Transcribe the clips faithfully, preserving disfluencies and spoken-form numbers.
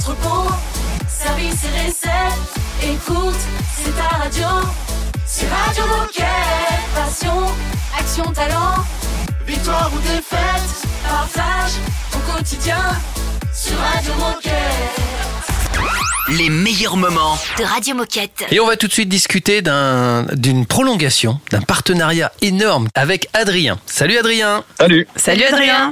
entrepôt, service et recettes. Écoute, c'est ta radio. C'est Radio Moquette. Passion, action, talent. Victoire ou défaite, partage ton quotidien sur Radio Moquette. Les meilleurs moments de Radio Moquette. Et on va tout de suite discuter d'un, d'une prolongation, d'un partenariat énorme avec Adrien. Salut Adrien. Salut. Salut Adrien.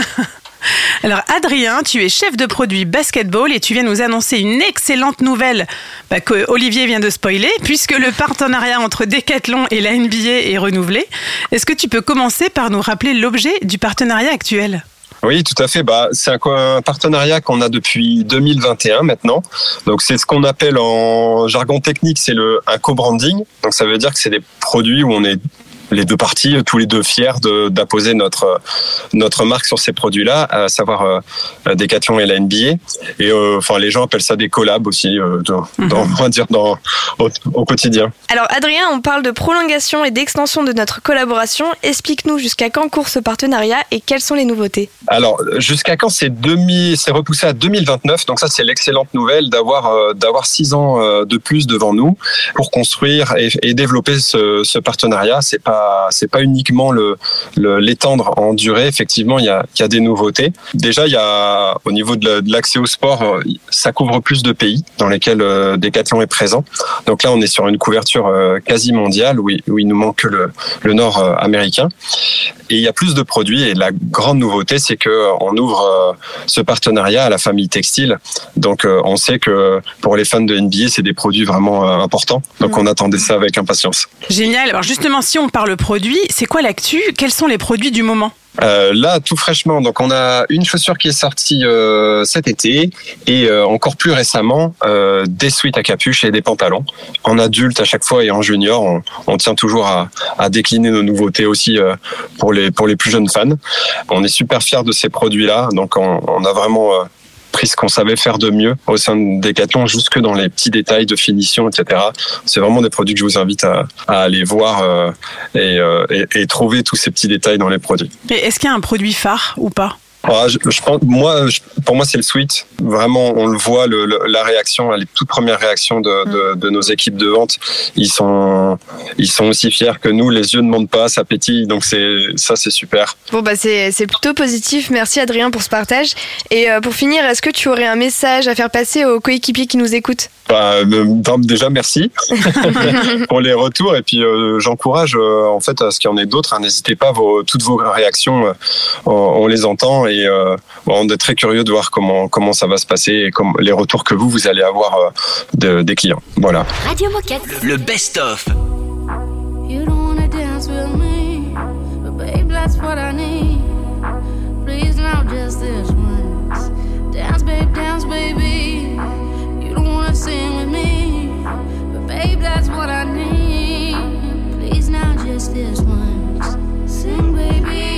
Alors Adrien, tu es chef de produit basketball et tu viens nous annoncer une excellente nouvelle bah, que Olivier vient de spoiler, puisque le partenariat entre Decathlon et la N B A est renouvelé. Est-ce que tu peux commencer par nous rappeler l'objet du partenariat actuel ? Oui, tout à fait. Bah, c'est un, un partenariat qu'on a depuis deux mille vingt et un maintenant. Donc, c'est ce qu'on appelle en jargon technique, c'est le un co-branding. Donc, ça veut dire que c'est des produits où on est les deux parties, tous les deux fiers de, d'apposer notre notre marque sur ces produits-là, à savoir euh, Decathlon et la N B A. Et euh, enfin, les gens appellent ça des collabs aussi, euh, dans, mm-hmm. dans, on va dire dans au, au quotidien. Alors Adrien, on parle de prolongation et d'extension de notre collaboration. Explique-nous jusqu'à quand court ce partenariat et quelles sont les nouveautés. Alors jusqu'à quand c'est demi, c'est repoussé à deux mille vingt-neuf. Donc ça c'est l'excellente nouvelle d'avoir euh, d'avoir six ans euh, de plus devant nous pour construire et, et développer ce, ce partenariat. C'est pas c'est pas uniquement le, le l'étendre en durée. Effectivement, il y a il y a des nouveautés. Déjà, il y a au niveau de, la, de l'accès au sport, ça couvre plus de pays dans lesquels euh, Decathlon est présent. Donc là, on est sur une couverture euh, quasi mondiale où il, où il nous manque que le le nord euh, américain. Et il y a plus de produits. Et la grande nouveauté, c'est que on ouvre euh, ce partenariat à la famille textile. Donc, euh, on sait que pour les fans de N B A, c'est des produits vraiment euh, importants. Donc, mmh. on attendait ça avec impatience. Génial. Alors justement, si on parle produits, c'est quoi l'actu ? Quels sont les produits du moment ? Euh, là, tout fraîchement, donc on a une chaussure qui est sortie euh, cet été et euh, encore plus récemment euh, des sweats à capuche et des pantalons. En adulte à chaque fois et en junior, on, on tient toujours à, à décliner nos nouveautés aussi euh, pour les pour les plus jeunes fans. On est super fiers de ces produits-là, donc on, on a vraiment euh, pris ce qu'on savait faire de mieux au sein de Decathlon, jusque dans les petits détails de finition, et cetera. C'est vraiment des produits que je vous invite à, à aller voir euh, et, euh, et, et trouver tous ces petits détails dans les produits. Et est-ce qu'il y a un produit phare ou pas ? Ah, je, je pense, moi, je, pour moi, c'est le sweat. Vraiment, on le voit, le, le, la réaction, les toutes premières réactions de, de, de nos équipes de vente, ils sont, ils sont aussi fiers que nous. Les yeux ne mentent pas, ça pétille, donc c'est ça, c'est super. Bon bah c'est c'est plutôt positif. Merci Adrien pour ce partage. Et euh, pour finir, est-ce que tu aurais un message à faire passer aux coéquipiers qui nous écoutent ? Bah, euh, déjà merci pour les retours et puis euh, j'encourage euh, en fait à ce qu'il y en ait d'autres. Hein, n'hésitez pas, vos, toutes vos réactions, euh, on, on les entend et euh, on est très curieux de voir comment comment ça va se passer et comme les retours que vous vous allez avoir euh, de, des clients. Voilà. Radio Moquette. Le best-of. You don't wanna dance with me, but babe, that's what I need. Please now, just this once. Dance, babe, dance, baby. You don't wanna sing with me, but babe, that's what I need. Please now, just this once. Sing, baby.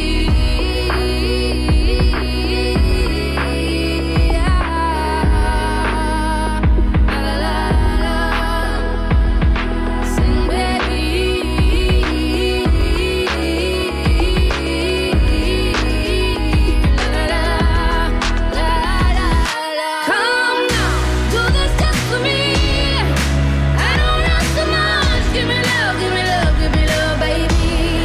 Give me love, give me love, baby.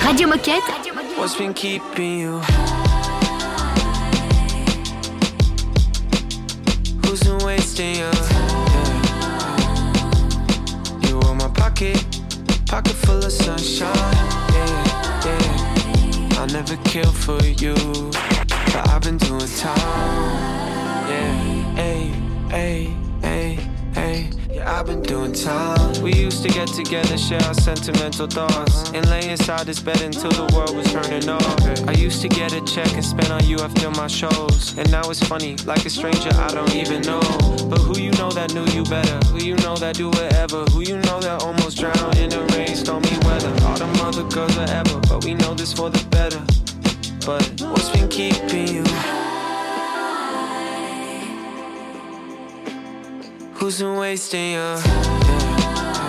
Radio Moquette. What's been keeping you? Who's been wasting you? Yeah. You were my pocket, pocket full of sunshine. Yeah, yeah. I'll never kill for you, but I've been doing time. Yeah, hey, hey, hey, hey. Yeah, I've been doing time. We used to get together, share our sentimental thoughts, and lay inside this bed until the world was turning off. I used to get a check and spend on you after my shows, and now it's funny, like a stranger I don't even know. But who you know that knew you better? Who you know that do whatever? Who you know that almost drowned in the rain, stormy weather? All them other girls are ever, but we know this for the better. But what's been keeping you? Who's been wasting you? Yeah.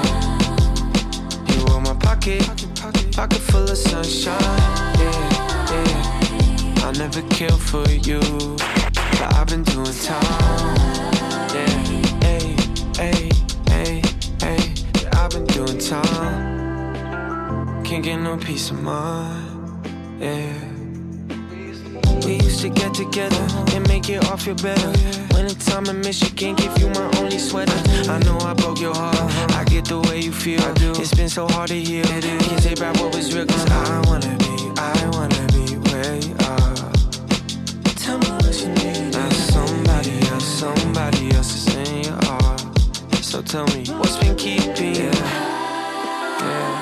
You were my pocket, pocket full of sunshine. Yeah, yeah. I'll never kill for you, but I've been doing time. Yeah, hey, hey, hey, hey. Yeah, I've been doing time. Can't get no peace of mind. Yeah. We used to get together and make it all feel better. Wintertime in Michigan, give you my only sweater. I know I broke your heart, I get the way you feel. It's been so hard to heal, can't take back what was real. Cause I wanna be, I wanna be where you are. Tell me what you need. Now somebody else, somebody else is in your heart. So tell me, what's been keeping you? Yeah.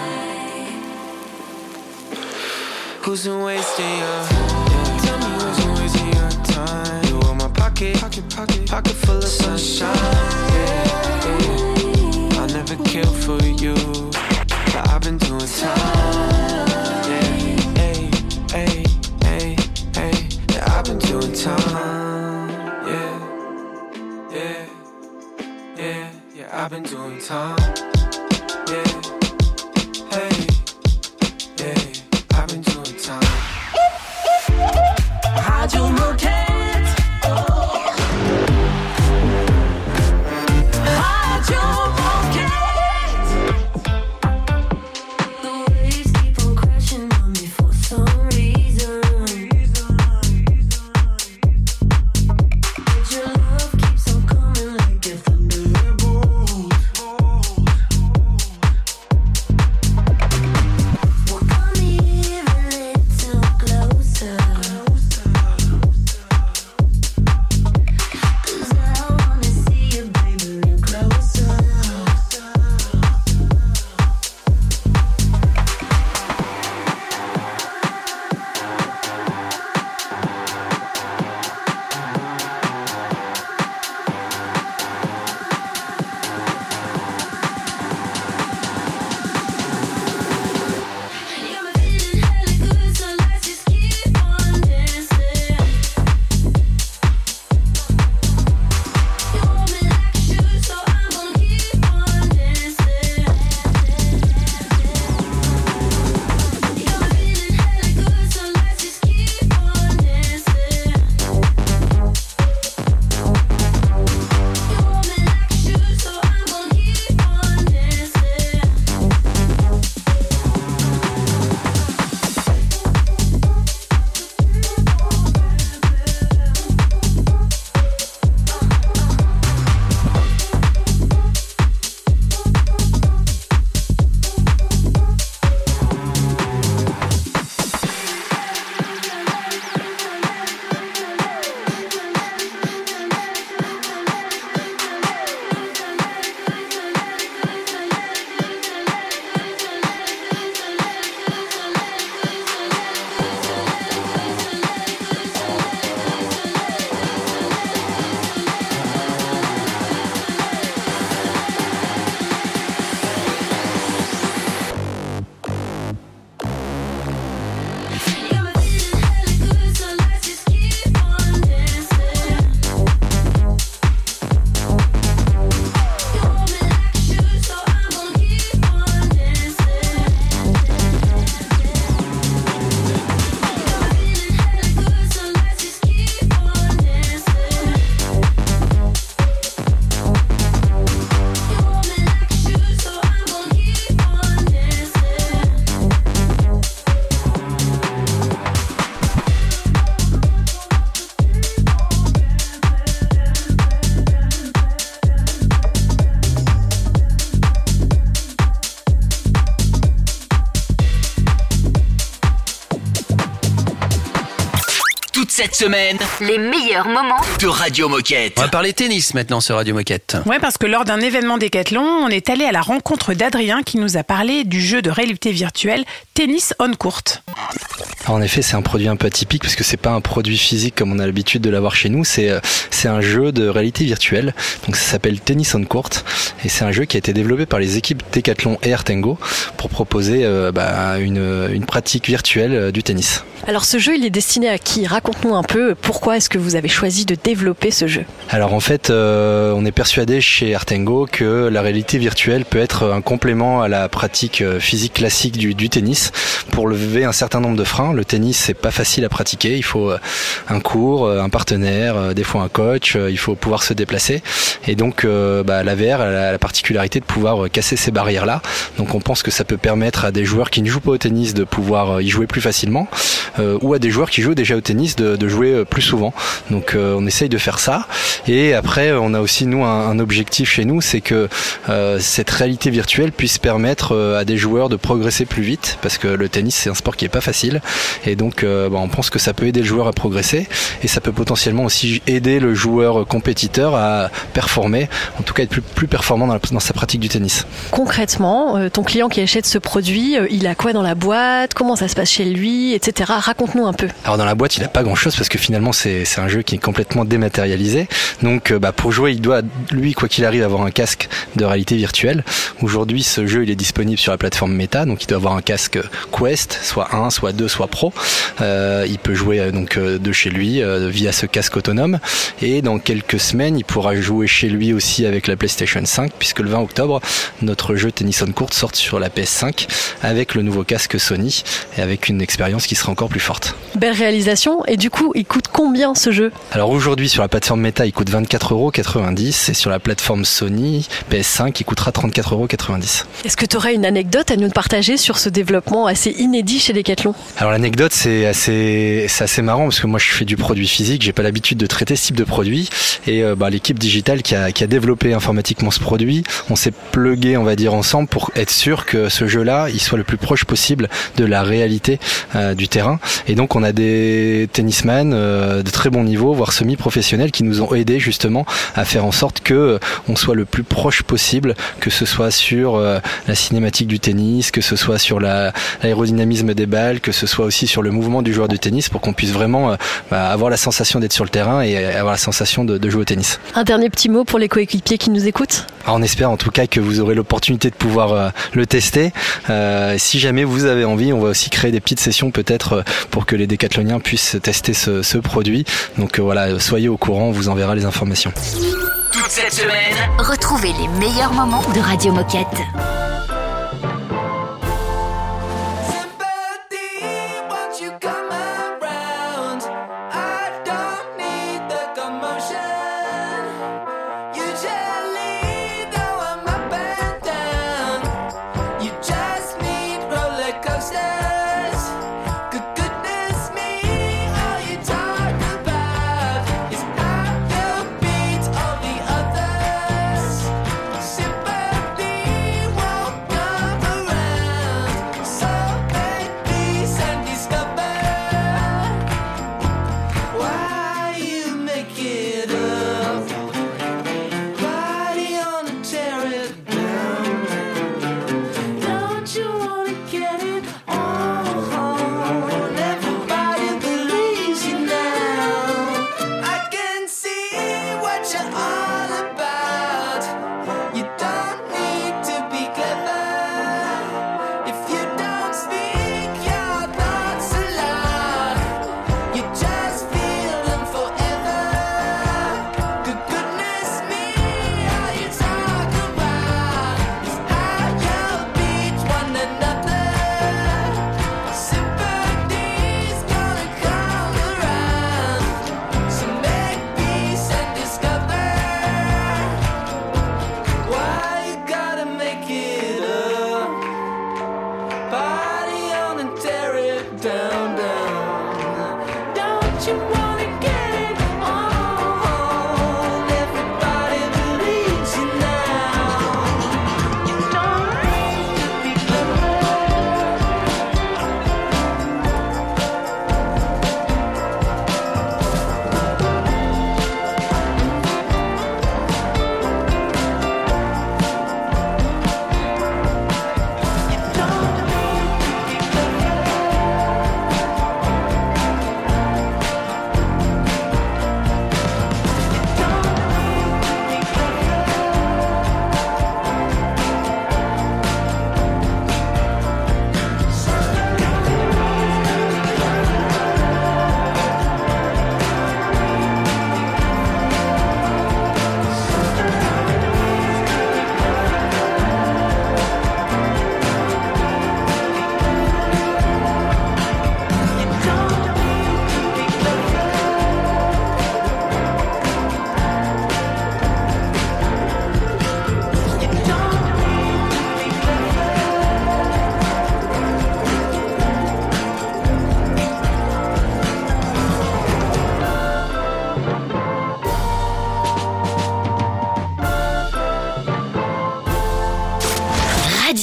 Who's been wasting you? Yeah. Tell me who's been wasting your time. You were my pocket, pocket, pocket, pocket full of sunshine. Yeah, yeah. I'll never kill for you, but I've been doing time. Yeah, hey, hey, hey, hey. Yeah, I've been doing time. Yeah, yeah, yeah, yeah. I've been doing time. Yeah, hey, yeah. I've been doing time. Radio Moquette. Radio Moquette. The waves keep on crashing on me for some reason. But your love keeps on coming like a thunderbolt. cette semaine Les meilleurs moments de Radio Moquette. On va parler tennis maintenant sur Radio Moquette. Ouais, parce que lors d'un événement Décathlon, on est allé à la rencontre d'Adrien qui nous a parlé du jeu de réalité virtuelle Tennis on Court. En effet, c'est un produit un peu atypique parce que c'est pas un produit physique comme on a l'habitude de l'avoir chez nous. C'est c'est un jeu de réalité virtuelle. Donc ça s'appelle Tennis on Court et c'est un jeu qui a été développé par les équipes Décathlon et Artengo pour proposer euh, bah, une une pratique virtuelle euh, du tennis. Alors ce jeu, il est destiné à qui ? Raconte-nous un peu pourquoi est-ce que vous avez choisi de développer ce jeu ? Alors en fait, euh, on est persuadé chez Artengo que la réalité virtuelle peut être un complément à la pratique physique classique du, du tennis pour lever un certain nombre de freins. Le tennis, c'est pas facile à pratiquer. Il faut un cours, un partenaire, des fois un coach. Il faut pouvoir se déplacer. Et donc, euh, bah, la V R a la particularité de pouvoir casser ces barrières-là. Donc on pense que ça peut permettre à des joueurs qui ne jouent pas au tennis de pouvoir y jouer plus facilement. Euh, ou à des joueurs qui jouent déjà au tennis de, de jouer plus souvent. Donc euh, on essaye de faire ça. Et après, on a aussi nous un, un objectif chez nous, c'est que euh, cette réalité virtuelle puisse permettre euh, à des joueurs de progresser plus vite, parce que le tennis c'est un sport qui est pas facile. Et donc euh, bah, on pense que ça peut aider le joueur à progresser, et ça peut potentiellement aussi aider le joueur compétiteur à performer, en tout cas être plus, plus performant dans, la, dans sa pratique du tennis. Concrètement, euh, ton client qui achète ce produit, euh, il a quoi dans la boîte ? Comment ça se passe chez lui, et cetera. Raconte-nous un peu. Alors dans la boîte, il n'a pas grand-chose parce que finalement c'est c'est un jeu qui est complètement dématérialisé. Donc bah, pour jouer, il doit lui quoi qu'il arrive avoir un casque de réalité virtuelle. Aujourd'hui, ce jeu il est disponible sur la plateforme Meta, donc il doit avoir un casque Quest, soit un, soit deux, soit Pro. Euh, il peut jouer euh, donc euh, de chez lui euh, via ce casque autonome. Et dans quelques semaines, il pourra jouer chez lui aussi avec la PlayStation cinq, puisque le vingt octobre, notre jeu Tennis on Court sort sur la P S cinq avec le nouveau casque Sony et avec une expérience qui sera encore plus forte. Belle réalisation. Et du coup, il coûte combien ce jeu ? Alors aujourd'hui, sur la plateforme Meta, il coûte vingt-quatre euros quatre-vingt-dix et sur la plateforme Sony P S cinq, il coûtera trente-quatre euros quatre-vingt-dix. Est-ce que tu aurais une anecdote à nous partager sur ce développement assez inédit chez Decathlon ? Alors l'anecdote, c'est assez, c'est assez marrant parce que moi je fais du produit physique, j'ai pas l'habitude de traiter ce type de produit et euh, bah, l'équipe digitale qui a, qui a développé informatiquement ce produit, on s'est plugué, on va dire, ensemble pour être sûr que ce jeu-là, il soit le plus proche possible de la réalité euh, du terrain. Et donc on a des tennisman euh, de très bon niveau, voire semi-professionnels, qui nous ont aidés justement à faire en sorte que euh, on soit le plus proche possible, que ce soit sur euh, la cinématique du tennis, que ce soit sur la, l'aérodynamisme des balles, que ce soit aussi sur le mouvement du joueur de tennis, pour qu'on puisse vraiment euh, bah, avoir la sensation d'être sur le terrain et avoir la sensation de, de jouer au tennis. Un dernier petit mot pour les coéquipiers qui nous écoutent ? Alors, on espère en tout cas que vous aurez l'opportunité de pouvoir euh, le tester. Euh, si jamais vous avez envie, on va aussi créer des petites sessions peut-être euh, pour que les décathloniens puissent tester ce, ce produit. Donc euh, voilà, soyez au courant, on vous enverra les informations. Toute cette semaine, Retrouvez les meilleurs moments de Radio Moquette.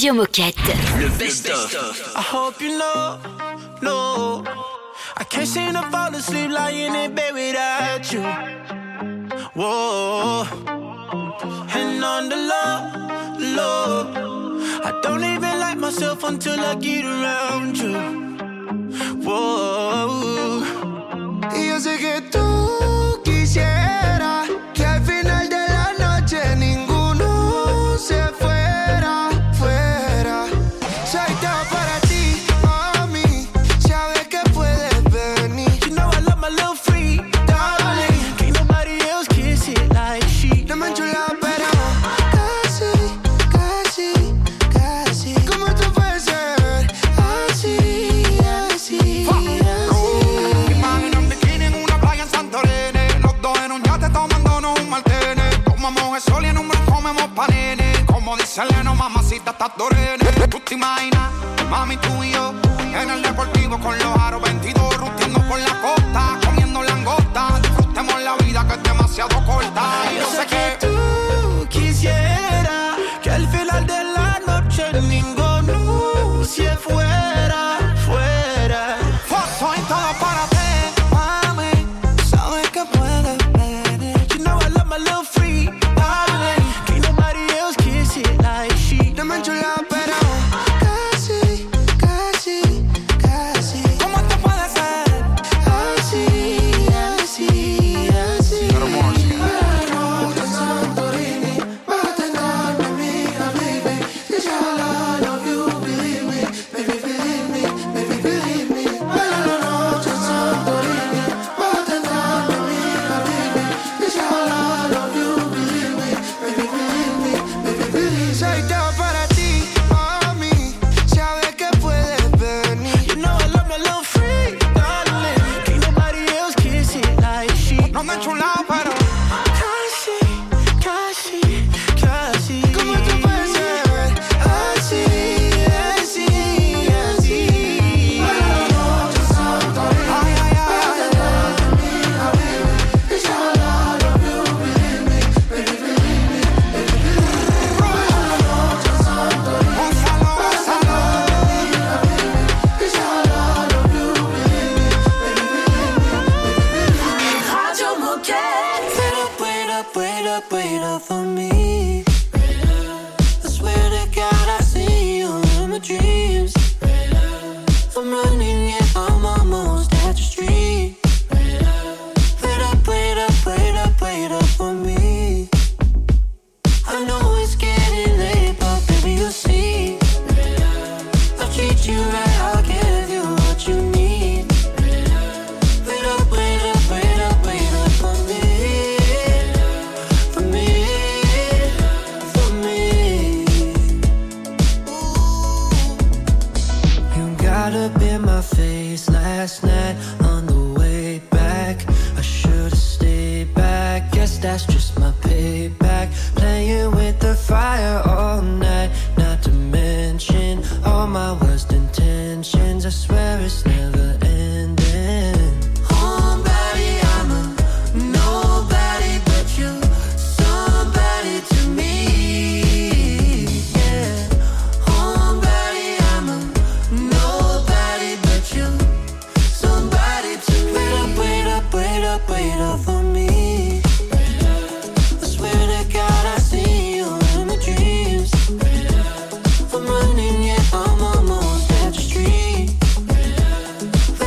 Radio Moquette. Le best-of. I hope you know, no, I can't seem to fall asleep lying in bed without you. Whoa, and on the low, low, I don't even like myself until I get around you. Whoa, y yo sé que tú quisieras que al final de la noche ninguno se fuera, fuera. Soy todo para ti, mami. Sabes que puedes venir. You know I love my little freak, darling. Can't nobody else kiss it like she. No me enchula, pero casi, casi, casi. ¿Cómo tú puedes ser así, así, así? Imagina un bikini en una playa en Santorini. Los dos en un yate tomándonos un martini. Tomamos el sol y en un bron comemos panini. Como dice Leno, mamacita, estás dorene. Tú te imaginas, mami, tú y yo en el deportivo con los aros veintidós, ruteando por la costa, comiendo langosta. Disfrutemos la vida que es demasiado corta. Y yo sé que tú quisieras que al final de la noche ninguno se fuera, fuera. Soy todo para ti, mami. Sabes que puedes venir. You know I love my little freak, darling. Can't nobody else kiss it like she. No me enchula, pero casi, casi, casi. ¿Cómo te puede ser? Así, así, así. Hermosa. Santorini, bájate en calma, amiga, baby. This is all I love you, believe me, baby, believe me, baby, believe me. Baila la noche en Santorini, bájate en calma, amiga, baby. This is all I love you, believe me, baby, believe me, baby, believe me. Soy todo para ti, mami. Sabes que puedes venir. You know I love my little freak, darling. Can't nobody else kiss it like she. No me enchulado, pero Casi, casi, casi. ¿Cómo tú puedes ser así, así, así? Baila la noche en Santorini. ay, ay, ay, Amiga, baby, it's all I love you, believe me, baby, believe me, baby, believe me. Baila la noche en Santorini. Gonzalo, Gonzalo. Amiga, baby, it's all I love you, believe me, baby, believe me, baby, believe me. Radio Moquette. Wait up, wait up, wait up, wait up for me. I swear to God I see you in my dreams. I'm running, yeah, I'm almost at your street. Wait up, wait up, wait up, wait up for me. I know it's getting late, but baby you'll see. I'll treat you right, I'll give you what you need. Wait up, wait up, wait up, wait up for me. For me, for me. You got up in my face last night on the way back. I should've stayed back, guess that's just my payback. Playing with the fire all night, not to mention all my worst intentions. I swear it's never ending. Homebody, I'm a nobody but you, somebody to me. Yeah, homebody, I'm a nobody but you, somebody to me. Wait up, wait up, wait up, wait up for me. I swear to God I see you in my dreams. I'm running, yeah, I'm almost at your street.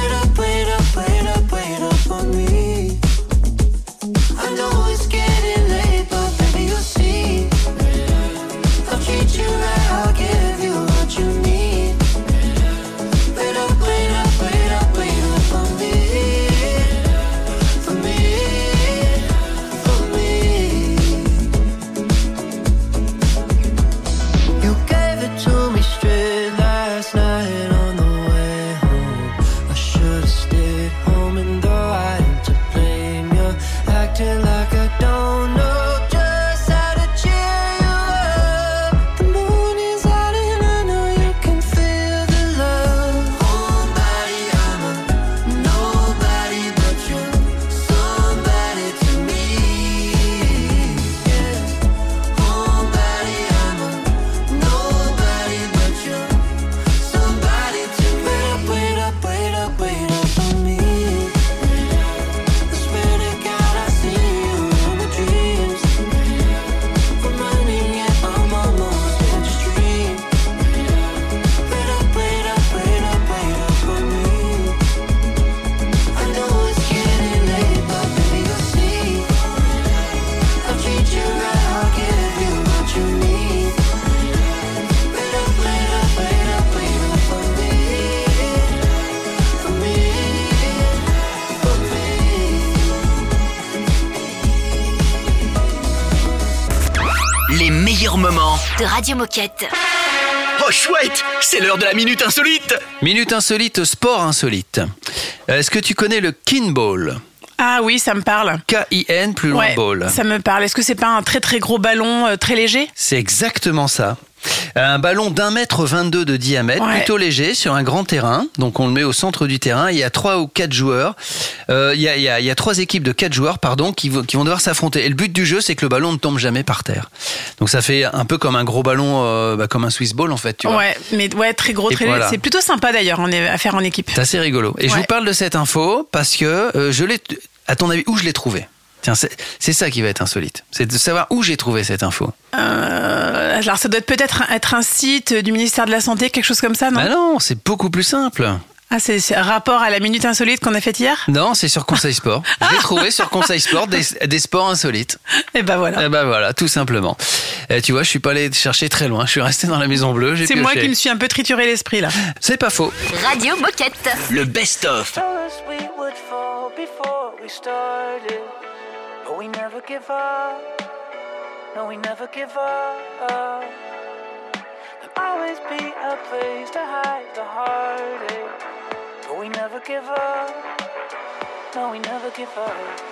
de Radio Moquette. Oh chouette, c'est l'heure de la Minute Insolite. Minute Insolite, sport insolite. Est-ce que tu connais le Kinball ? Ah oui, ça me parle. K I N, plus loin Ouais, ball. ça me parle. Est-ce que c'est pas un très très gros ballon euh, très léger ? C'est exactement ça. Un ballon d'un mètre vingt-deux de diamètre, Ouais. plutôt léger, sur un grand terrain. Donc on le met au centre du terrain. Il y a trois ou quatre joueurs. Euh, il, y a, il, y a, il y a trois équipes de quatre joueurs, pardon, qui, vont- qui vont devoir s'affronter. Et le but du jeu, c'est que le ballon ne tombe jamais par terre. Donc ça fait un peu comme un gros ballon, euh, bah, comme un Swiss ball en fait. Tu vois. Ouais, mais ouais, très gros, Et très voilà. léger. C'est plutôt sympa d'ailleurs en- à faire en équipe. C'est assez rigolo. Et je Ouais. vous parle de cette info parce que euh, je l'ai. À ton avis, où je l'ai trouvée ? Tiens, c'est, c'est ça qui va être insolite. C'est de savoir où j'ai trouvé cette info. Euh, alors ça doit être peut-être être un site du ministère de la Santé, quelque chose comme ça, non ? Bah non, c'est beaucoup plus simple. Ah, c'est, c'est un rapport à la minute insolite qu'on a faite hier ? Non, c'est sur Conseil Sport. Je l'ai trouvé sur Conseil Sport des, des sports insolites. Et ben voilà. Et ben voilà, tout simplement. Et tu vois, je suis pas allé chercher très loin. Je suis resté dans la Maison Bleue. J'ai C'est pioché. moi qui me suis un peu trituré l'esprit là. C'est pas faux. Radio Moquette. Le best-of. Told us we would fall before we started, but we never give up. No, we never give up. There'll always be a place to hide the heartache, but we never give up. No, we never give up.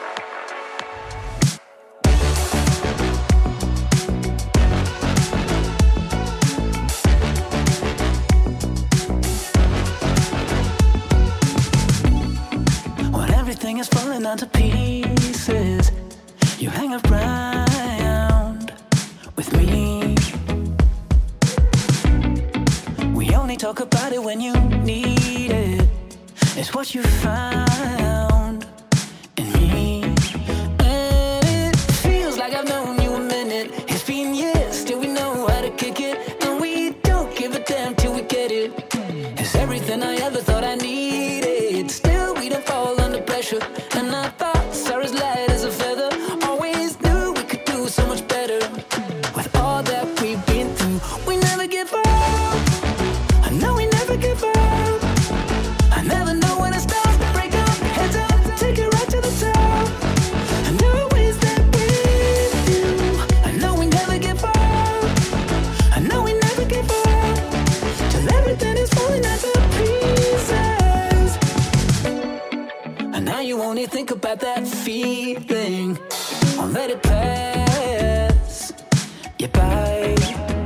When everything is falling down to pieces, you hang around with me. We only talk about it when you need it. It's what you found in me. And it feels like I've known you a minute. It's been years, still we know how to kick it. And we don't give a damn till we get it. It's everything I ever thought I needed. Still we don't fall under pressure. And I thought are as light as a feather. Always knew we could do so much better. With all that we've been through, we never give up. I know we never give up. I never know when it starts to break up. Heads up, take it right to the top. And always that with you. I know we never give up. I know we never give up. Till everything is falling to pieces. And now you only think about that feeling. Won't let it pass you by.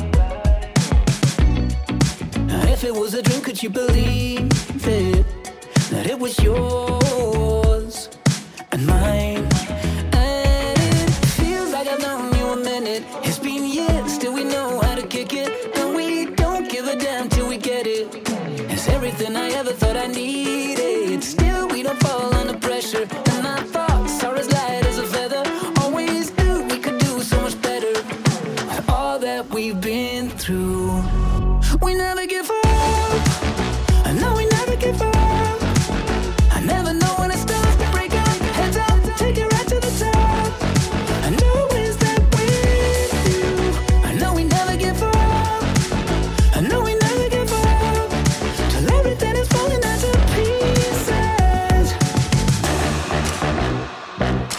If it was a dream, could you believe it? That it was yours and mine. And it feels like I've known you a minute. It's been years, still we know how to kick it. And we don't give a damn till we get it. It's everything I ever thought I needed. Still we don't fall under pressure. And our thoughts are as light as a feather. Always knew we could do so much better. With all that we've been through, we never give up. I know we never give up. I never know when it starts to break up. Heads up, take it right to the top. I know it's that with you. I know we never give up. I know we never give up. Till everything is falling to pieces.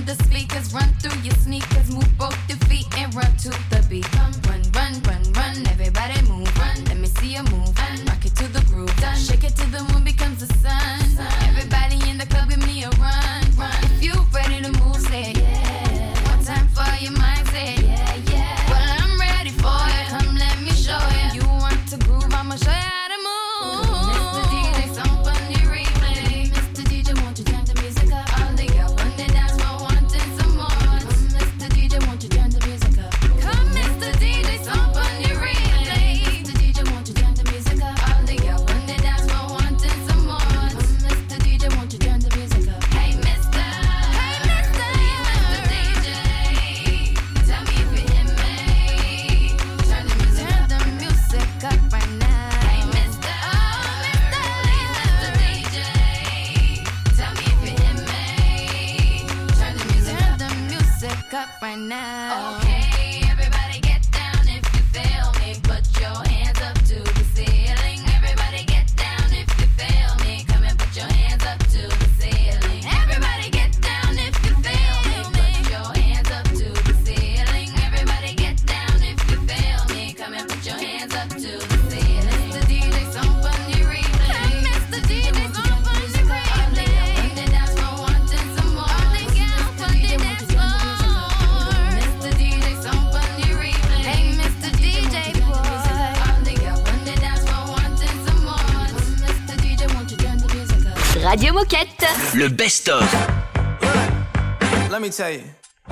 the speakers, run through your sneakers, move both your feet and run to the beat. Run, run, run, run, run, everybody move, run. Let me see you move, run. Rock it to the groove, done. Shake it till the moon becomes the sun. Everybody in the club, give me a run, run. If you ready to move, say yeah. One time for your mind, say yeah, yeah. Well, I'm ready for it. Come, let me show you. You want to groove, I'ma show you how to move. Mister D J, some funny replay. Mister D J, won't you turn the music up? All the girls on the dance floor wanting some more. Mister D J, won't you turn the music up? Come, Mister D J, some funny replay. Mister D J, won't you turn the music up? All the girls on the dance floor wanting some more. Mister D J, won't you turn the music up? Hey, Mister, hey, Mister, Mister D J, tell me if you hear me. Turn the music up, turn the music up right now. Hey, Mister, oh, Mister, Mister D J, tell me if you hear me. Turn the music up, turn the music up right now. Okay, everybody get down if you feel me. Put your hands up to the ceiling. Everybody get down if you feel me. Come and put your hands up to the ceiling. Everybody get down if you feel me. Put your hands up to the ceiling. Everybody get down if you feel me. Come and put your hands up to the ceiling. Mister D J, some funny replay. Mister D J, some funny replay. On the dance floor wanting some more. All the girls on the dance floor. Mister D J, some funny replay. Hey, Mister D J, boy. All the girls on the dance floor wanting some more. Mister D J, won't you turn the music up? Radio Moquette. Le best-of. Let me tell you.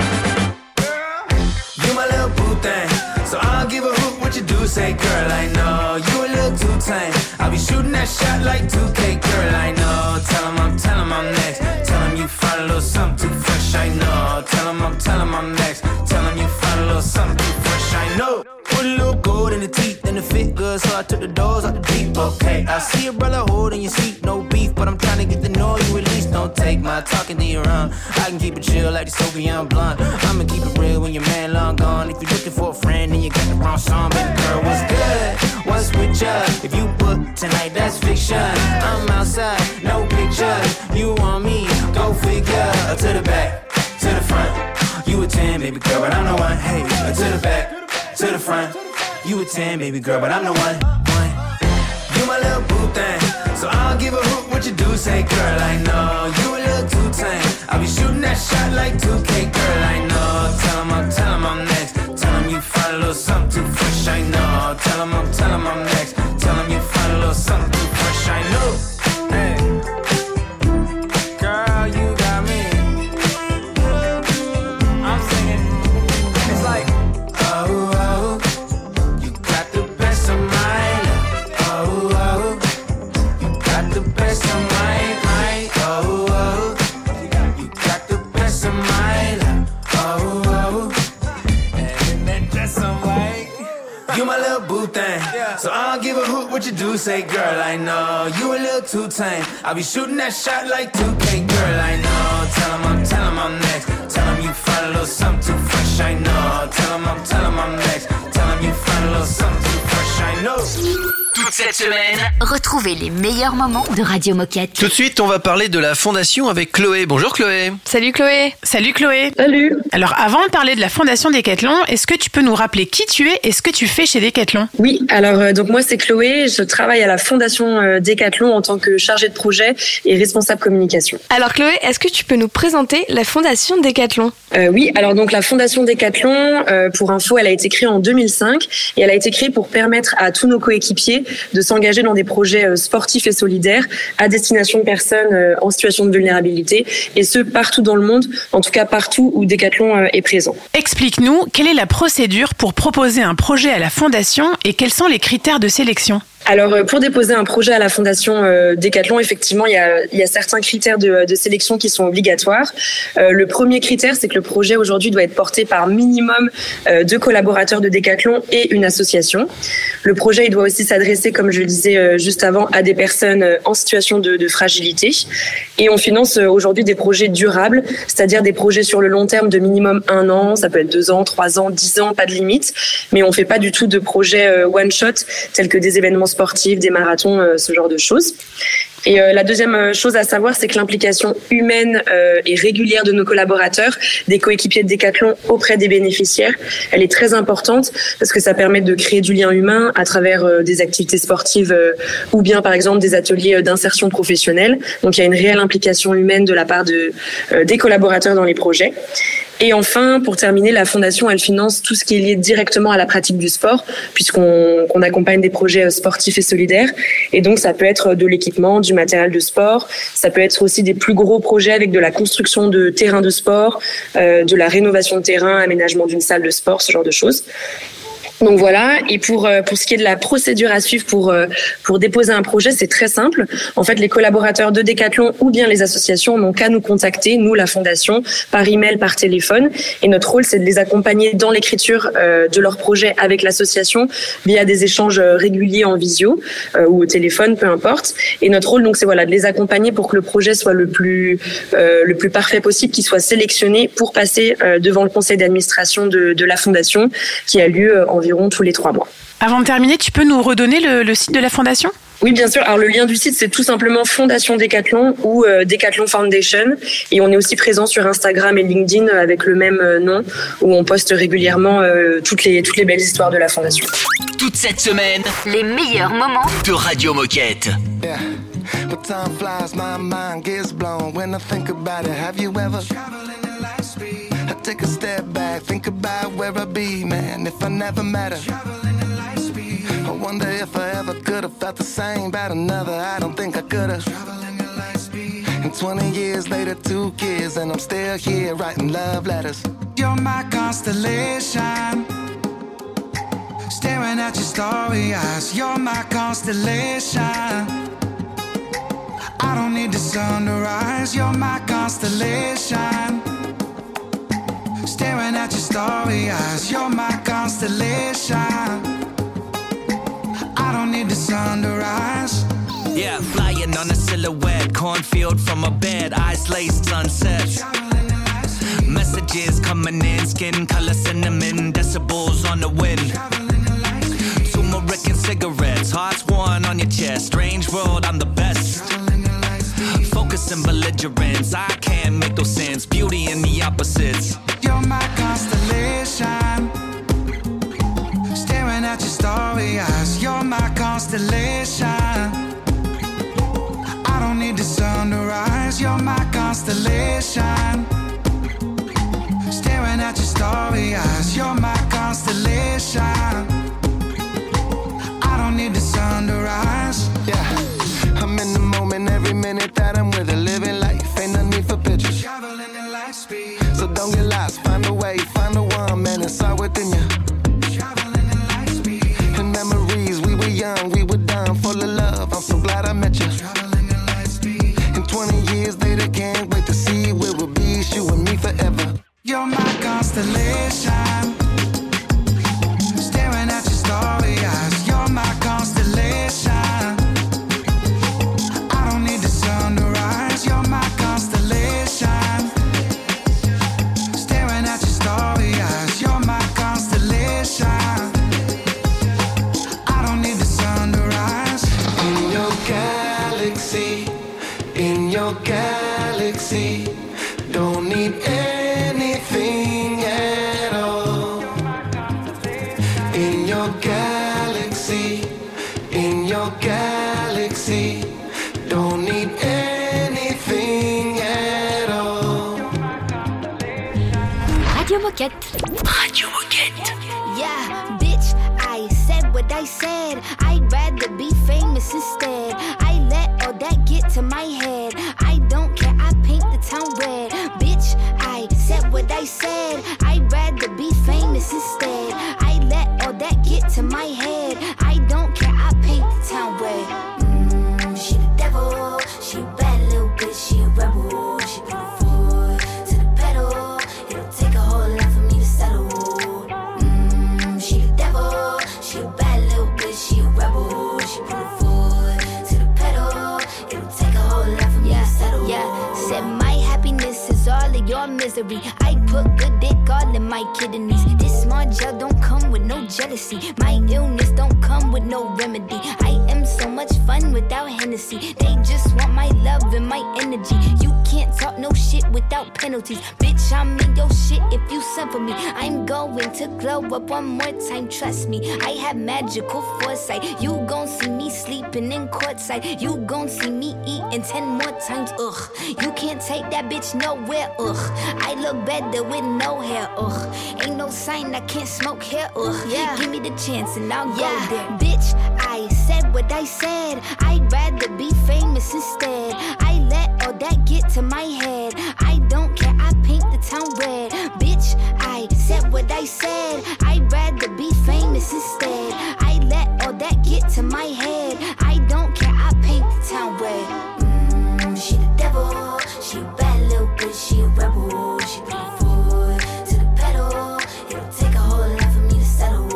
You my little boo thing, so I'll give a hoot what you do. Say, girl, I know you a little too tame. I'll be shooting that shot like two K, girl, I know. Tell him I'm, tell him I'm next. Tell him you find a little something too fresh, I know. Tell him I'm, tell him I'm next. Tell him you find a little something too fresh, I know. Put a little gold in the teeth and the fit good, so I took the doors out the deep, okay. I see your brother holding your seat, no beef, but I'm trying to get to know you at least. Don't take my talking to your own. I can keep it chill like the Soviet blunt. I'ma keep it real when your man long gone. If you're looking for a friend and you got the wrong song, baby girl, what's good? What's with ya? If you book tonight, that's fiction. I'm outside, no pictures. You want me? Go figure. To the back, to the front. You a ten, baby girl, but I'm the one. Hey, to the back, to the front. You a ten, baby girl, but I'm the one. one. You my little boo thing, so I'll give a hoot what you do. Say, girl, I know you a little too tame. I'll be shooting that shot like two K, girl, I know. Tell him I'm, tell him I'm next. Tell him you find a little something too fresh, I know. Tell him I'm, tell him I'm next. Tell him you find a little something too fresh, I know. Hey, girl, you got me. I'm singing. It's like, oh, oh, you got the best of mine. Oh, oh, you got the best of mine, mine. Oh, oh, you got the best of mine. Oh, oh, and in that dress I'm white. You my little boo thing, so I'll give a hoot what you do. Say, girl, I know you a little too tame. I'll be shooting that shot like two K, girl, I know. Tell him I'm, tell him I'm next. Tell him you find a little something too fresh, I know. Tell him I'm, tell him I'm next. Tell him you find a little something too fresh, I know. Toute cette semaine, Retrouvez les meilleurs moments de Radio Moquette. Tout de suite, on va parler de la fondation avec Chloé. Bonjour Chloé. Salut Chloé. Salut Chloé. Salut. Alors avant de parler de la fondation Decathlon, est-ce que tu peux nous rappeler qui tu es et ce que tu fais chez Decathlon? Oui, alors euh, donc moi c'est Chloé, je travaille à la fondation euh, Decathlon en tant que chargée de projet et responsable communication. Alors Chloé, est-ce que tu peux nous présenter la fondation Decathlon? euh, Oui, alors donc la fondation Decathlon, euh, pour info, elle a été créée en deux mille cinq et elle a été créée pour permettre à tous nos coéquipiers de s'engager dans des projets euh, sportifs et solidaires à destination de personnes euh, en situation de vulnérabilité et ce partout dans le monde, en tout cas partout où Decathlon euh, est présent. Explique-nous, quelle est la procédure pour proposer un projet à la fondation et quels sont les critères de sélection? Alors, pour déposer un projet à la fondation euh, Decathlon, effectivement, il y a, il y a certains critères de, de sélection qui sont obligatoires. Euh, le premier critère, c'est que le projet aujourd'hui doit être porté par minimum euh, deux collaborateurs de Decathlon et une association. Le projet, il doit aussi s'adresser, comme je le disais euh, juste avant, à des personnes euh, en situation de, de fragilité. Et on finance euh, aujourd'hui des projets durables, c'est-à-dire des projets sur le long terme de minimum un an, ça peut être deux ans, trois ans, dix ans, pas de limite. Mais on fait pas du tout de projets euh, one-shot, tels que des événements sportifs, des marathons, euh, ce genre de choses. Et euh, la deuxième chose à savoir, c'est que l'implication humaine euh, et régulière de nos collaborateurs, des coéquipiers de Decathlon auprès des bénéficiaires, elle est très importante parce que ça permet de créer du lien humain à travers euh, des activités sportives euh, ou bien par exemple des ateliers d'insertion professionnelle. Donc il y a une réelle implication humaine de la part de, euh, des collaborateurs dans les projets. Et enfin, pour terminer, la Fondation, elle finance tout ce qui est lié directement à la pratique du sport, puisqu'on qu'on accompagne des projets sportifs et solidaires. Et donc, ça peut être de l'équipement, du matériel de sport. Ça peut être aussi des plus gros projets avec de la construction de terrains de sport, euh, de la rénovation de terrain, aménagement d'une salle de sport, ce genre de choses. Donc voilà, et pour pour ce qui est de la procédure à suivre pour pour déposer un projet, c'est très simple. En fait, les collaborateurs de Decathlon ou bien les associations n'ont qu'à nous contacter, nous la fondation, par email, par téléphone. Et notre rôle, c'est de les accompagner dans l'écriture euh, de leur projet avec l'association via des échanges réguliers en visio euh, ou au téléphone, peu importe. Et notre rôle, donc, c'est voilà de les accompagner pour que le projet soit le plus euh, le plus parfait possible, qu'il soit sélectionné pour passer euh, devant le conseil d'administration de de la fondation, qui a lieu euh, environ tous les trois mois. Avant de terminer, tu peux nous redonner le, le site de la fondation ? Oui, bien sûr. Alors, le lien du site, c'est tout simplement Fondation Decathlon ou euh, Decathlon Foundation. Et on est aussi présent sur Instagram et LinkedIn avec le même euh, nom, où on poste régulièrement euh, toutes les, toutes les belles histoires de la Fondation. Toute cette semaine, les meilleurs moments de Radio Moquette. Yeah. But time flies, my mind gets blown when I think about it. Have you ever traveling in light speed? I take a step back, think about where I'd be, man, if I never met her. Traveling in light speed. I wonder if I ever could have felt the same about another. I don't think I could have. Traveling in light speed. And twenty years later, two kids, and I'm still here writing love letters. You're my constellation, staring at your starry eyes. You're my constellation. I don't need the sun to rise. You're my constellation, staring at your starry eyes. You're my constellation. I don't need the sun to rise. Yeah, flying on a silhouette, cornfield from a bed, eyes laced sunsets. Messages coming in, skin color cinnamon, decibels on the wind. Turmeric and cigarettes, hearts worn on your chest. Strange world, I'm the best. Focus and belligerence, I can't make those sense. Beauty in the opposites. You're my constellation, staring at your starry eyes. You're my constellation. I don't need the sun to rise. You're my constellation, staring at your starry eyes. You're my constellation. I don't need the sun to rise. Yeah, I'm in the moment every minute that I'm with her. Living life, ain't no need for pictures. Traveling in light speed. So don't get lost, find a way, find the one, man, it's all within you. Traveling in light speed. In memories, we were young, we were dumb, full of love. I'm so glad I met you. Traveling in light speed. And twenty years later, can't wait to see where we'll be, it's you and me forever. You're my constellation, staring at your starry eyes. You're my constellation. I don't need the sun to rise. You're my constellation, staring at your starry eyes. You're my constellation. I don't need the sun to rise. In your galaxy, in your galaxy, don't need anything at all. In your galaxy, in your galaxy, don't need anything at all. Radio Moquette. Radio Moquette. Yeah, bitch, I said what I said. I'd rather be famous instead. I let all that get to my head. I don't care, I paint the town red. Bitch, I said what I said. I'd rather be famous instead. I let all that get to my head. I don't care, I paint the town red. Mm, she the devil, she a bad little bitch, she a rebel. She bring the foot to the pedal. It'll take a whole lot for me to settle. Mm, she the devil, she a bad little bitch, she a rebel. She bring the foot to the pedal. It'll take a whole lot for me yeah, to settle. Yeah, said my happiness is all of your misery. I put good dick all in my kidneys. This small gel don't come with no jealousy. My illness don't come with no remedy. I am so much fun without Hennessy. They just want my love and my energy. You can't talk no shit without penalties. Bitch, I'm in your shit if you send for me. I'm going to glow up one more time, trust me. I have magical foresight. You gon' see me sleeping in courtside. You gon' see me eating ten more times, ugh. You can't take that bitch nowhere, ugh. I look better with no hair, ugh. Ain't no sign I can't smoke hair, ugh. Yeah. Give me the chance and I'll yeah. go there. Bitch, I said what I said. I'd rather be famous instead. I let all that get to my head. I don't care, I paint the town red. Bitch, I said what I said. I'd rather be famous instead. I let all that get to my head. I don't care, I paint the town red. Mm, she the devil, she a bad little bitch, she a rebel. She put her foot to the pedal. It'll take a whole lot for me to settle.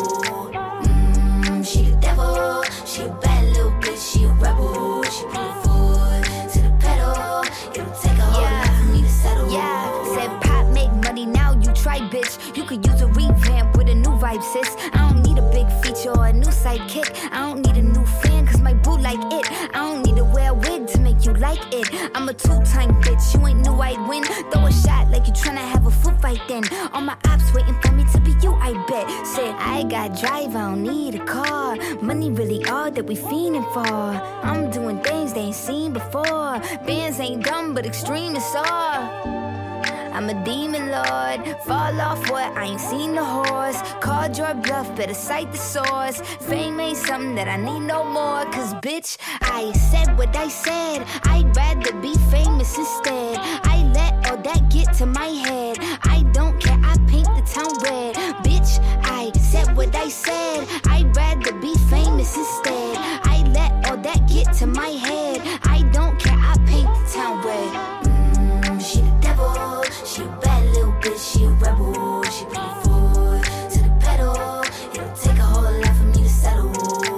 Mm, she the devil, she a bad little bitch, she a rebel. She put her foot to the pedal. It'll take a whole yeah. lot for me to settle. Yeah, said pop make money, now you try, bitch. You could use a revamp with a new vibe, sis. I don't need a big feature or a new sidekick. I don't need a new fan, cause my boo like it. I don't need to wear a wig to make you like it. I'm a two-time bitch, you ain't knew I'd win. Throw a shot like you tryna have a foot fight then. All my ops waiting for me to be you, I bet. Said I got drive, I don't need a car. Money really all that we fiending for. I'm doing things they ain't seen before. Bands ain't dumb, but extreme is all. I'm a demon lord, fall off what, I ain't seen the horse. Called your bluff, better cite the source. Fame ain't something that I need no more. Cause bitch, I said what I said. I'd rather be famous instead. I let all that get to my head. I don't care, I paint the town red. Bitch, I said what I said. I'd rather be famous instead. I let all that get to my head. I don't care, I paint the town red. Mm, she the devil, she a bad little bitch, she a rebel. She put her foot to the pedal. It'll take a whole lot for me to settle.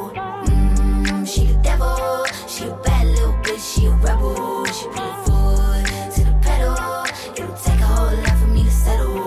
Mm, she the devil, she a bad little bitch, she a rebel. She put her foot to the pedal. It'll take a whole lot for me to settle.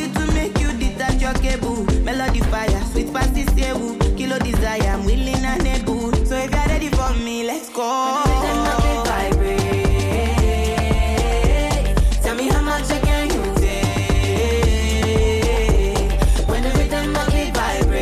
Melody fire, sweet past the kilo desire, I'm willing and lights go. When the rhythm of it vibrates, tell me how much I can you take. When the rhythm of it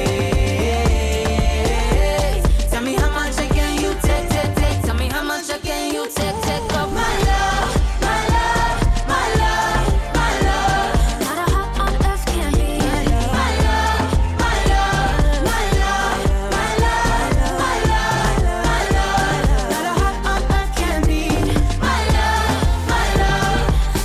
vibrates, tell me how much I can you take, take, take. Tell me how much I can you take, take of my love, my love, my love, my love. Not a heart on earth can be my love, my love, my love, my love, my love, my love. Not a heart on earth can be my love, my love.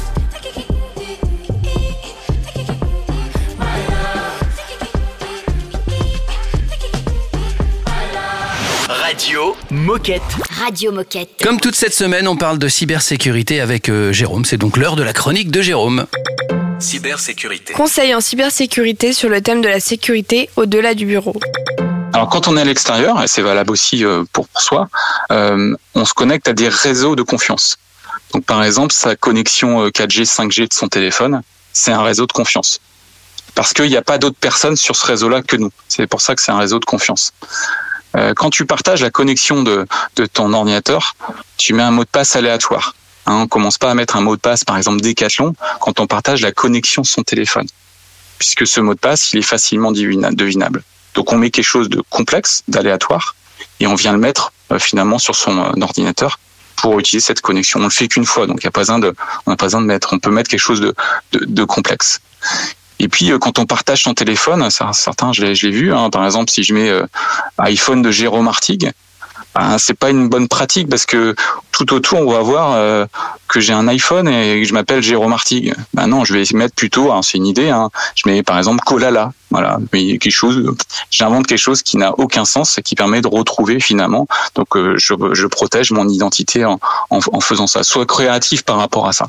Radio Moquette. Radio Moquette. Comme toute cette semaine, on parle de cybersécurité avec euh, Jérôme. C'est donc l'heure de la chronique de Jérôme. Cybersécurité. Conseil en cybersécurité sur le thème de la sécurité au-delà du bureau. Alors quand on est à l'extérieur, et c'est valable aussi euh, pour, pour soi, euh, on se connecte à des réseaux de confiance. Donc par exemple, sa connexion quatre G, cinq G de son téléphone, c'est un réseau de confiance. Parce qu'il n'y a pas d'autres personnes sur ce réseau-là que nous. C'est pour ça que c'est un réseau de confiance. Euh, quand tu partages la connexion de, de ton ordinateur, tu mets un mot de passe aléatoire. Hein, on commence pas à mettre un mot de passe, par exemple Decathlon, quand on partage la connexion de son téléphone. Puisque ce mot de passe, il est facilement devinable. Donc on met quelque chose de complexe, d'aléatoire, et on vient le mettre euh, finalement sur son euh, ordinateur pour utiliser cette connexion. On le fait qu'une fois, donc il y a pas besoin de, on n'a pas besoin de mettre. On peut mettre quelque chose de, de, de complexe. Et puis euh, quand on partage son téléphone, certains, je l'ai, je l'ai vu. Hein, par exemple, si je mets euh, iPhone de Jérôme Artigue, ben, c'est pas une bonne pratique parce que tout autour on va voir euh, que j'ai un iPhone et que je m'appelle Jérôme Artigue. Ben non, je vais mettre plutôt, hein, c'est une idée. Hein, je mets par exemple Colala. Voilà, mais quelque chose. J'invente quelque chose qui n'a aucun sens et qui permet de retrouver finalement. Donc euh, je, je protège mon identité en, en, en faisant ça. Sois créatif par rapport à ça.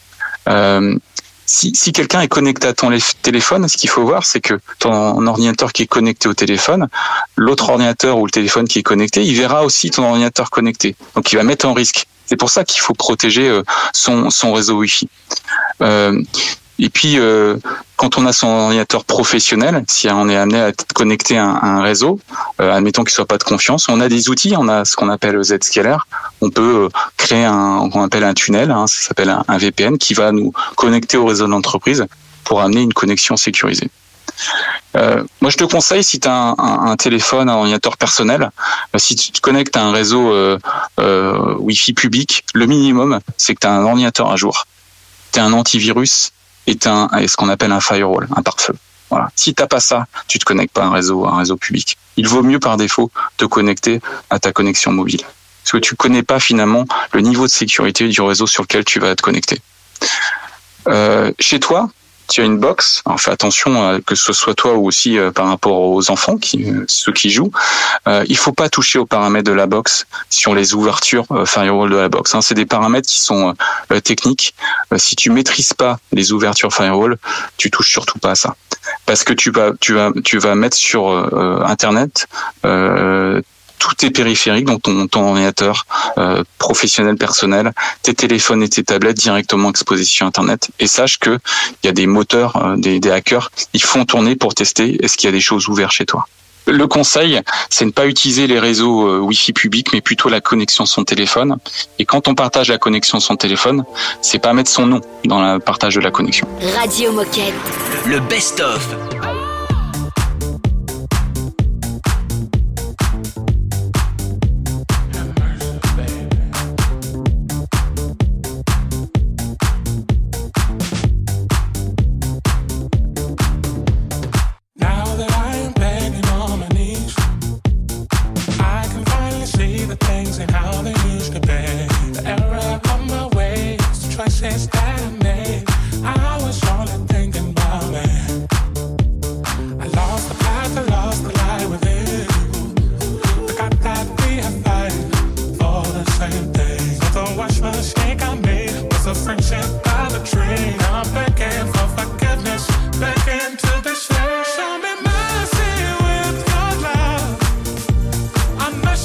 Euh, Si, si quelqu'un est connecté à ton téléphone, ce qu'il faut voir, c'est que ton ordinateur qui est connecté au téléphone, l'autre ordinateur ou le téléphone qui est connecté, il verra aussi ton ordinateur connecté. Donc, il va mettre en risque. C'est pour ça qu'il faut protéger son, son réseau Wi-Fi. Euh, et puis, euh, quand on a son ordinateur professionnel, si on est amené à être connecté à un, à un réseau, euh, admettons qu'il soit pas de confiance, on a des outils, on a ce qu'on appelle Zscaler. On peut créer un, qu'on appelle un tunnel, hein, ça s'appelle un, un V P N, qui va nous connecter au réseau de l'entreprise pour amener une connexion sécurisée. Euh, moi, je te conseille, si tu as un, un, un téléphone, un ordinateur personnel, euh, si tu te connectes à un réseau euh, euh, Wi-Fi public, le minimum, c'est que tu as un ordinateur à jour, tu as un antivirus et tu as ce qu'on appelle un firewall, un pare-feu. Voilà. Si t'as pas ça, tu te connectes pas à un réseau, à un réseau public. Il vaut mieux par défaut te connecter à ta connexion mobile. Parce que tu connais pas finalement le niveau de sécurité du réseau sur lequel tu vas te connecter. Euh, chez toi, tu as une box. Alors fais attention euh, que ce soit toi ou aussi euh, par rapport aux enfants, qui, euh, ceux qui jouent. Euh, il faut pas toucher aux paramètres de la box sur les ouvertures euh, firewall de la box. Hein. C'est des paramètres qui sont euh, techniques. Euh, si tu maîtrises pas les ouvertures firewall, tu touches surtout pas à ça, parce que tu vas, tu vas, tu vas mettre sur euh, Internet. Euh, tous tes périphériques, donc ton, ton ordinateur euh, professionnel, personnel, tes téléphones et tes tablettes directement exposés sur Internet. Et sache que il y a des moteurs, euh, des, des hackers, ils font tourner pour tester est-ce qu'il y a des choses ouvertes chez toi. Le conseil, c'est de ne pas utiliser les réseaux euh, Wi-Fi publics, mais plutôt la connexion de son téléphone. Et quand on partage la connexion de son téléphone, c'est pas mettre son nom dans le partage de la connexion. Radio Moquette. Le best-of.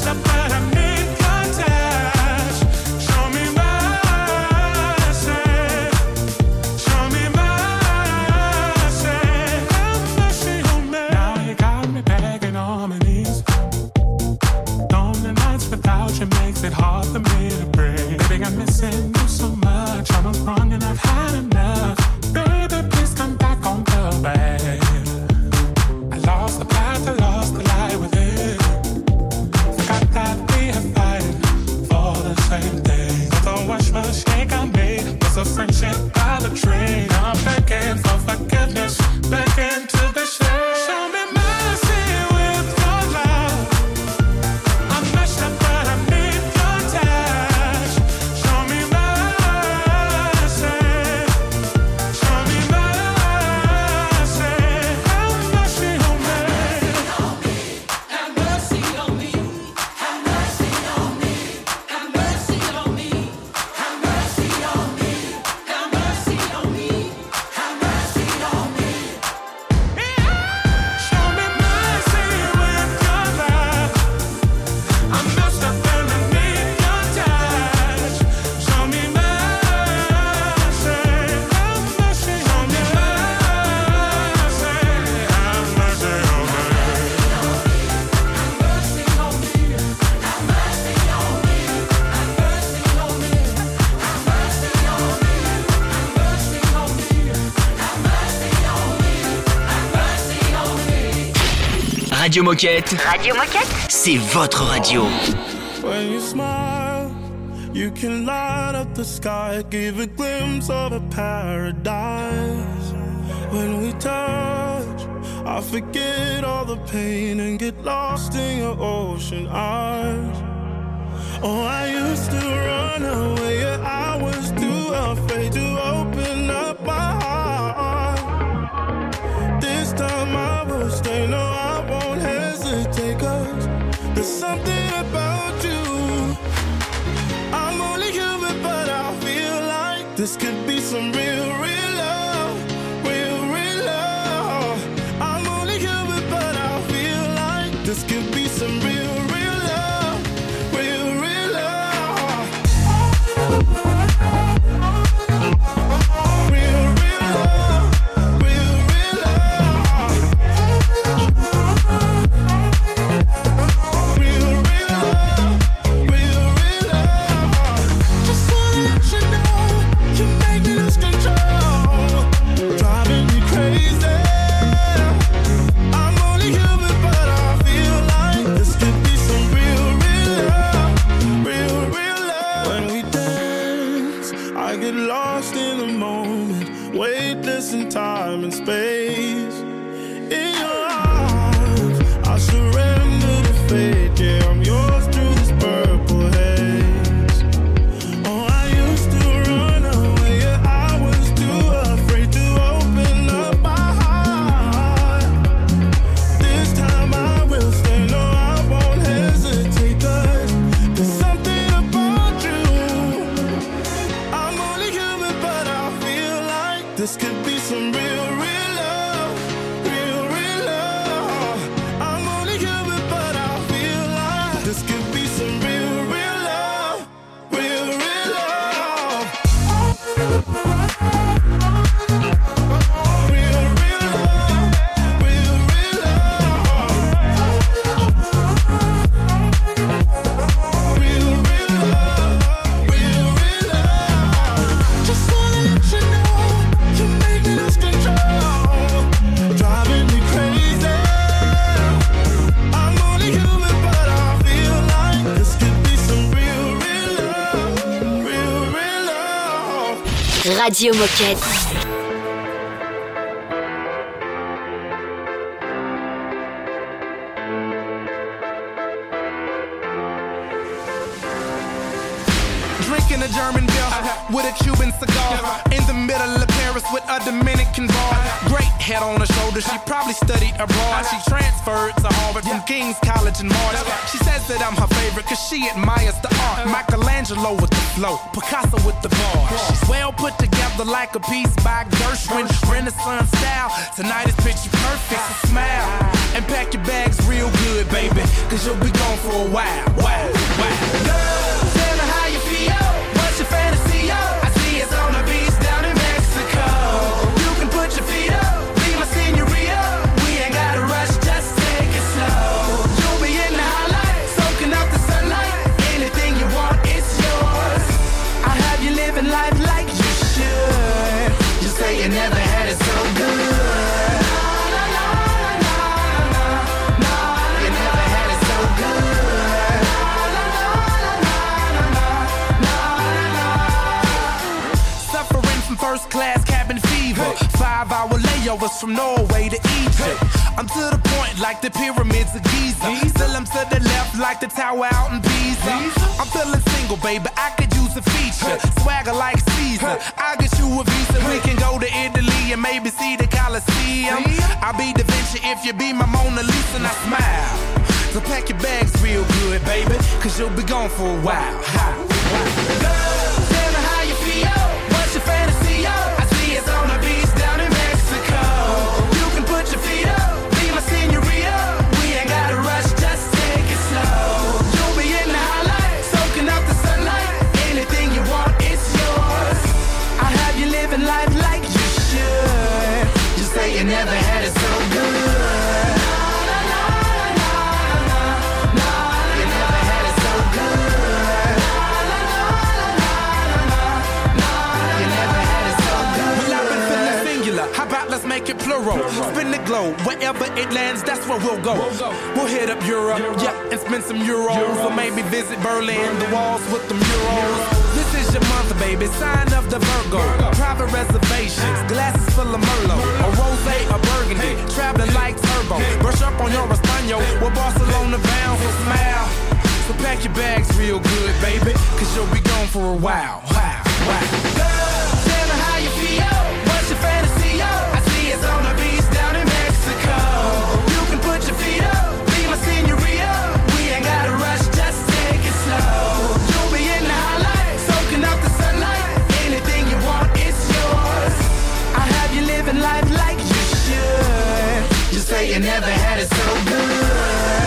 Show me mercy. the friendship by the tree. I'm begging for forgiveness, begging to be saved. Show me mercy with your love. I'm messed up, but I need your touch. Show me mercy. Show me mercy. Have mercy on me. Have mercy on me. Have mercy on me. Have mercy on me. Have mercy on me. Have mercy on me. Have mercy on me. Show me mercy with your love. I'm messed up and I need your touch. Show me mercy. Have mercy on me. Have mercy on me. Radio Moquette, Radio Moquette. c'est votre radio. When you smile, you can light up the sky, give a glimpse of a paradise. When we touch, I forget all the pain and get lost in your ocean eyes. Oh, I used to run away, yeah, I was too afraid to open up my heart. This time I will stay, no, I won't hesitate, 'cause there's something about you. I'm only human, but I feel like this could be some real, real love, real, real love. I'm only human, but I feel like this could be some real, real love, real, real love. Real, real love, real, real love. Real, real love, real, real love. Just wanna let you know, you're making us control, driving me crazy. I'm only human, but I feel like this could be some real, real love, real, real love. When we dance, I get lost in the moment, weightless in time and space. In your arms, I surrender to fate. Yeah, I'm yours through this purple haze. Oh, I used to run away, yeah, I was too afraid to open up my heart. This time I will stay, no, I won't hesitate, 'cause there's something about you. I'm only human, but I feel like this could be some real, real love, real, real love. I'm only human, but I feel like this could be some real, real love, real, real love. Real, real love, real, real love. Real, real love, real, real love. Just wanna let you know, you're making us control, driving me crazy. I'm only human, but I feel like this could be some real, real love, real, real love. Radio Moquette. Drinking a German beer with a Cuban cigar. In the middle of Paris with a Dominican bar. Great head on her shoulder, she probably studied abroad. She transferred to Harvard from King's College in March. She says that I'm her favorite cause she admires the art. Michelangelo with the flow, Picasso with the bars. She's well put together like a piece by Gershwin. Renaissance style, tonight is picture perfect. So smile and pack your bags real good, baby, cause you'll be gone for a while. Wow, wow. Girl, tell me how you feel. What's your fantasy, yo? I see it's on the beach down in Mexico. You can put your feet up, be my senorita. We ain't gotta rush, just take it slow. You'll be in the highlight, soaking up the sunlight. Anything you want, it's yours. I have you living life like you should. You say you never had it so good. You never had it so good. Suffer first class cabin fever. Five hour layovers from Norway to Egypt. I'm to the point like the pyramids of Giza. Still I'm to the left like the tower out in Pisa. I'm feeling single, baby, I could use a feature. Swagger like Caesar, I'll get you a visa. We can go to Italy and maybe see the Colosseum. I'll be Da Vinci if you be my Mona Lisa and I smile. So pack your bags real good, baby, cause you'll be gone for a while. Girl, tell me how you feel. What's your fantasy, yo? I see it's on the beach down in Mexico. You can put your feet up, be my senorita. We ain't gotta rush, just take it slow. You'll be in the highlight, soaking up the sunlight. Anything you want, it's yours. I'll have you living life like you should. Just say you never had it so good. Let's make it plural. Spin the globe, wherever it lands, that's where we'll go. We'll hit up Europe, yeah, and spend some euros. Or maybe visit Berlin, the walls with the murals. This is your month, baby, sign of the Virgo. Private reservations, glasses full of Merlot. A rosé, a burgundy, traveling like turbo. Brush up on your Espanol, with Barcelona bound, so smile. So pack your bags real good, baby, cause you'll be gone for a while. Wow, wow. Girl, tell me how you feel. What's your fantasy, yo? I see it's on the beach down in Mexico. You can put your feet up, be my senorita. We ain't gotta rush, just take it slow. You'll be in the highlight, soaking up the sunlight. Anything you want, it's yours. I'll have you living life like you should. Just say you never had it so good.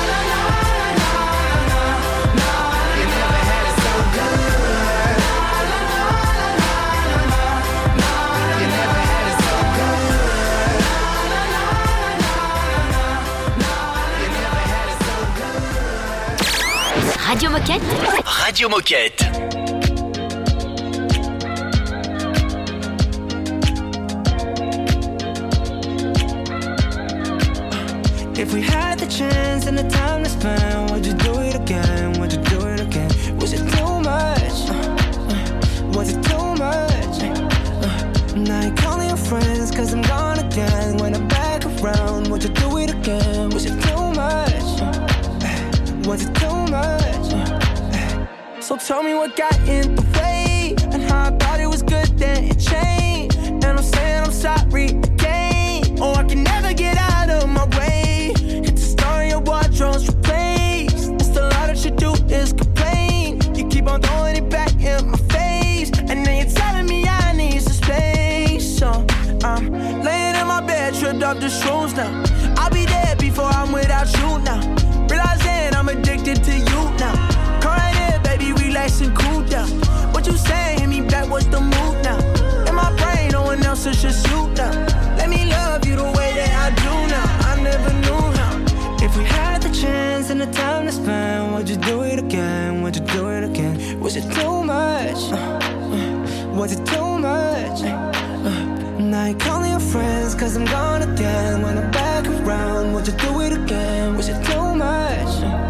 Radio Moquette. Radio Moquette. If we had the chance and the time to spend, would you do it again? Would you do it again? Was it too much? Was it too much? Now you're calling your friends cause I'm gone again. When I'm back around, would you do it again? Was it too much? Was it too much? So tell me what got in the way, and how I thought it was good, then it changed. And I'm saying I'm sorry again. Oh, I can never get out of my way. Hit the star in your wardrobe's replaced. It's a lot that you do is complain. You keep on throwing it back in my face, and then you're telling me I need some space. So I'm laying in my bed, tripped off the shoes now. I'll be dead before I'm without you now. Realizing I'm addicted to you now. Come right here, baby, relax and cool down. What you saying? Hit me back, what's the move now? In my brain, no one else, it's just you now. Let me love you the way that I do now. I never knew how. If we had the chance and the time to spend, would you do it again? Would you do it again? Was it too much? Uh, uh, was it too much? Uh, now you're calling your friends cause I'm gone again. When I'm back around, would you do it again? Was it too much?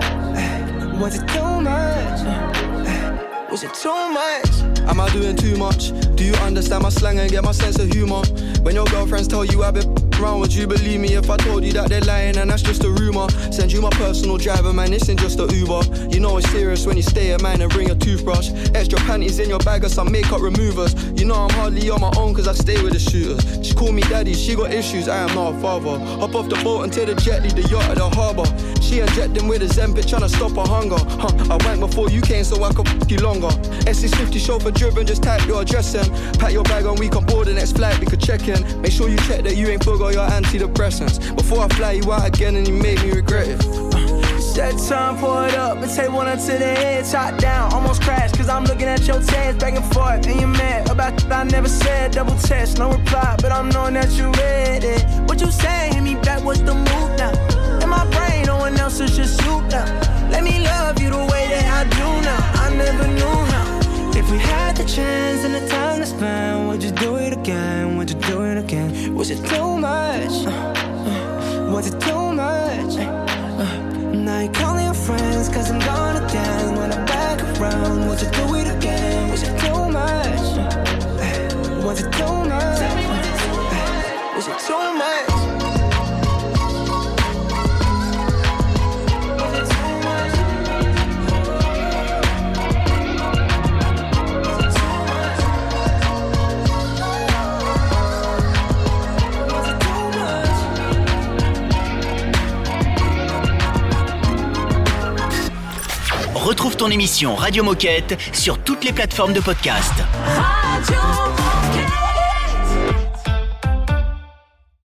Was it too much? Was it too much? Am I doing too much? Do you understand my slang and get my sense of humor? When your girlfriends tell you I've been around, would you believe me if I told you that they're lying and that's just a rumor? Send you my personal driver, man, this ain't just a Uber. You know it's serious when you stay at mine and bring a toothbrush. Extra panties in your bag or some makeup removers. You know I'm hardly on my own cause I stay with the shooters. She call me daddy, she got issues, I am not a father. Hop off the boat and take the jet, leave the yacht at the harbour. She injecting with a Zempic, tryna stop her hunger. Huh, I went before you came so I could f*** you longer. S six fifty chauffeur driven, just type your address in. Pack your bag and we can board the next flight, we could check in. Make sure you check that you ain't forgot your antidepressants before I fly you out again and you make me regret it. Set time, pour it up and take one up to the head. Top down, almost crashed cause I'm looking at your tans back and forth. And you're mad about th- I never said. Double test, no reply, but I'm knowing that you read it. What you saying? Hit me back, what's the move now? In my brain, no one else is just you now. Let me love you the way that I do now. I never knew how. If we had the chance and the time to spend, would you do it again? Would you do it again? Was it too much? Uh, uh, was it too much? Uh, now you're calling your friends cause I'm gone again. When I'm back around, would you do it again? Was it too much? Uh, was it ton émission Radio Moquette sur toutes les plateformes de podcast. Radio